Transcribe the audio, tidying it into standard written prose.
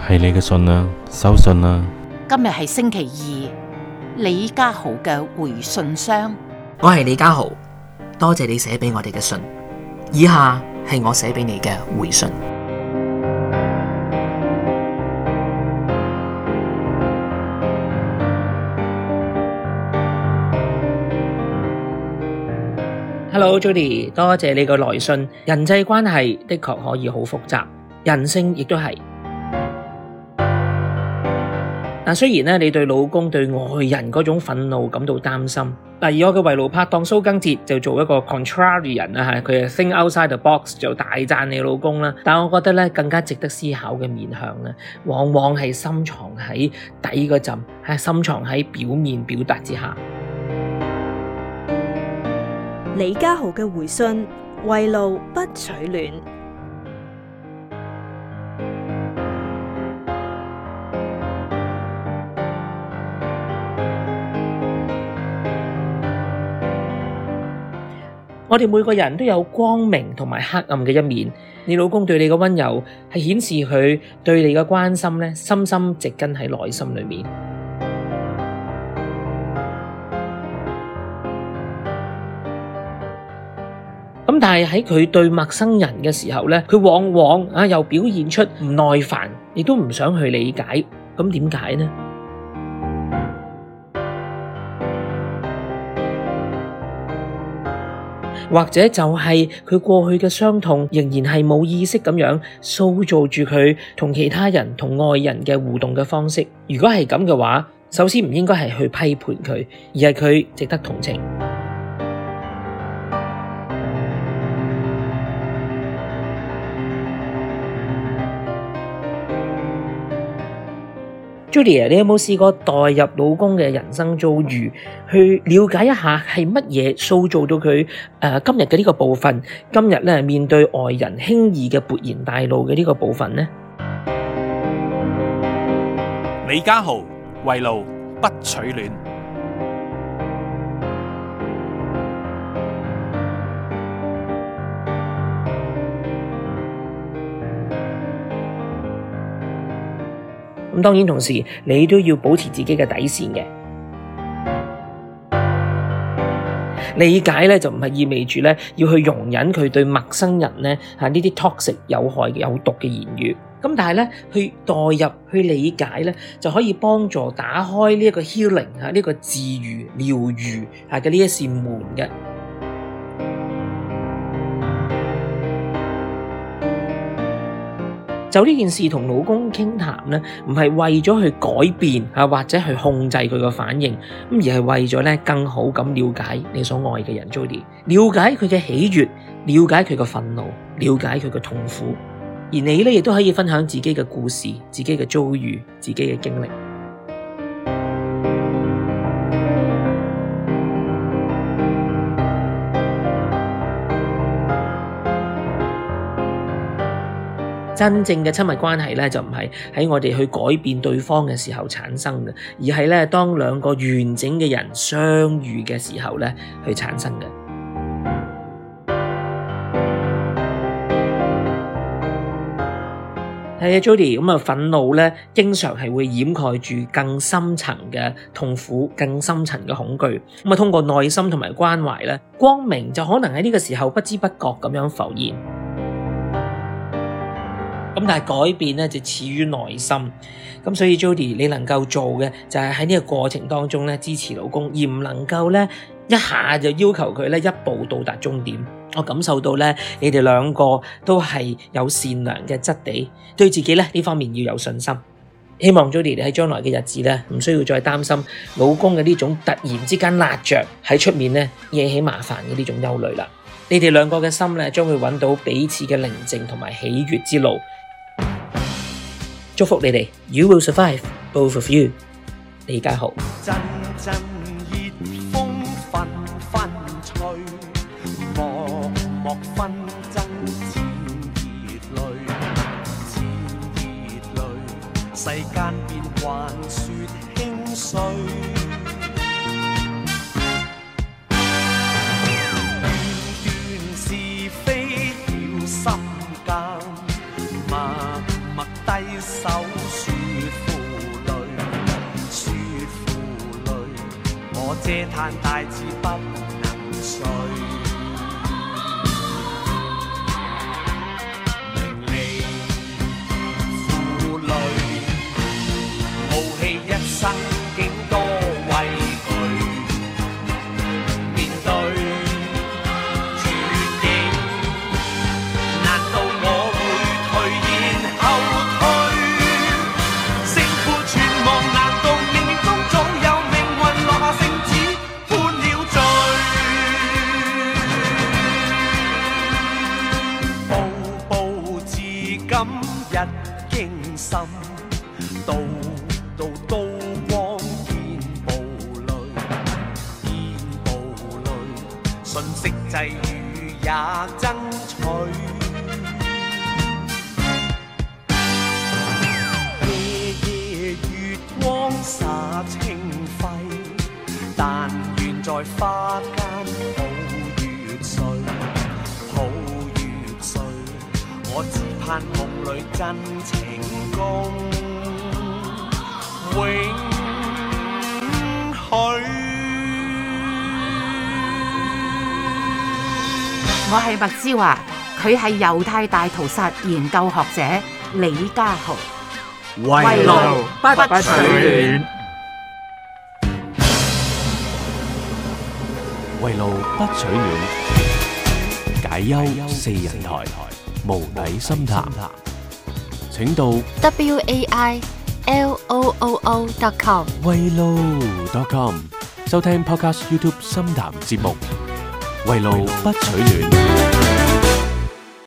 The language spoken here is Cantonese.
係你嘅信啦，收信啦。 今日係星期二，李家豪嘅回信箱。 我係李家豪，多謝你寫俾我哋嘅信。以下係我寫俾你嘅回信。Hello Judy， 多謝你個來信。人際關係的確可以好複雜，人性亦都係。但雖然你對老公對外人嗰種憤怒感到擔心，而我嘅圍爐拍檔蘇賡哲就做一個 contrarian 佢係 think outside the box 就大讚你老公啦。但我覺得更加值得思考嘅面向往往係深藏喺底嗰陣，係深藏喺表面表達之下。 李家豪嘅回信：圍爐不取暖。 我哋每個人都有光明同埋黑暗嘅一面。你老公對你嘅溫柔係顯示佢對你嘅關心深深植根喺內心裏面。但係喺佢對陌生人嘅時候佢往往又表現出唔耐煩，亦都唔想去理解。咁點解呢？或者就係佢過去嘅傷痛仍然係冇意識咁樣塑造住佢同其他人同愛人嘅互動嘅方式。如果係咁嘅話，首先唔應該係去批判佢，而係佢值得同情。Judy， 你有冇試過代入老公嘅人生遭遇，去了解一下係乜嘢塑造到佢今日嘅呢個部分，今日面對外人輕易嘅勃然大怒嘅呢個部分呢？ 李家豪，圍爐不取暖。 咁當然同時你都要保持自己嘅底線嘅。理解就唔係意味住要去容忍佢對陌生人呢啲 toxic 有害有毒嘅言語。咁但係去代入去理解就可以幫助打開呢一個 healing 呢個治癒療癒嘅呢一扇門嘅。就呢件事同老公傾談唔係為咗去改變或者去控制佢個反應，而係為咗更好咁了解你所愛嘅人 Judy， 了解佢嘅喜悅，了解佢嘅憤怒，了解佢嘅痛苦，而你亦都可以分享自己嘅故事、自己嘅遭遇、自己嘅經歷。真正嘅親密關係就唔係喺我哋去改變對方嘅時候產生嘅，而係當兩個完整嘅人相遇嘅時候去產生嘅。係啊 ，Judy， 咁憤怒經常係會掩蓋住更深層嘅痛苦、更深層嘅恐懼。咁通過耐心同埋關懷光明就可能喺呢個時候不知不覺咁樣浮現。咁但係改變就始於內心，咁所以 Judy 你能夠做嘅就係喺呢個過程當中支持老公，而唔能夠一下就要求佢一步到達終點。我感受到你哋兩個都係有善良嘅質地，對自己呢方面要有信心。希望 Judy 你喺將來嘅日子唔需要再擔心老公嘅呢種突然之間辣着喺出面惹起麻煩嘅呢種憂慮啦。你哋兩個嘅心將會揾到彼此嘅寧靜同埋喜悅之路。祝福你哋 ，You will survive, both of you。李家豪。陣陣熱風紛紛吹，漠漠紛爭似熱淚，似熱淚，世間變幻說輕碎。段段是非要心間。默默低手。 嗟嘆大志不能遂。名利負累，傲氣一生竟多畏懼。面對絕境，難道我會退然後退？勝負存亡，難道命運中早有命運落下聖旨判了罪？步步至今日驚心，道道刀光見暴戾，見暴戾，瞬息際遇也爭取。夜夜月光灑清輝，但願在花間抱月睡，抱月睡。我只盼夢裏真情共永許。 我係麥之華，佢係猶太大屠殺研究學者李家豪。 圍爐不取暖， 圍爐不取暖，解憂四人台，無底深談。請到 wailoo.com 圍爐.com 收聽 Podcast YouTube 深談節目。圍爐不取暖。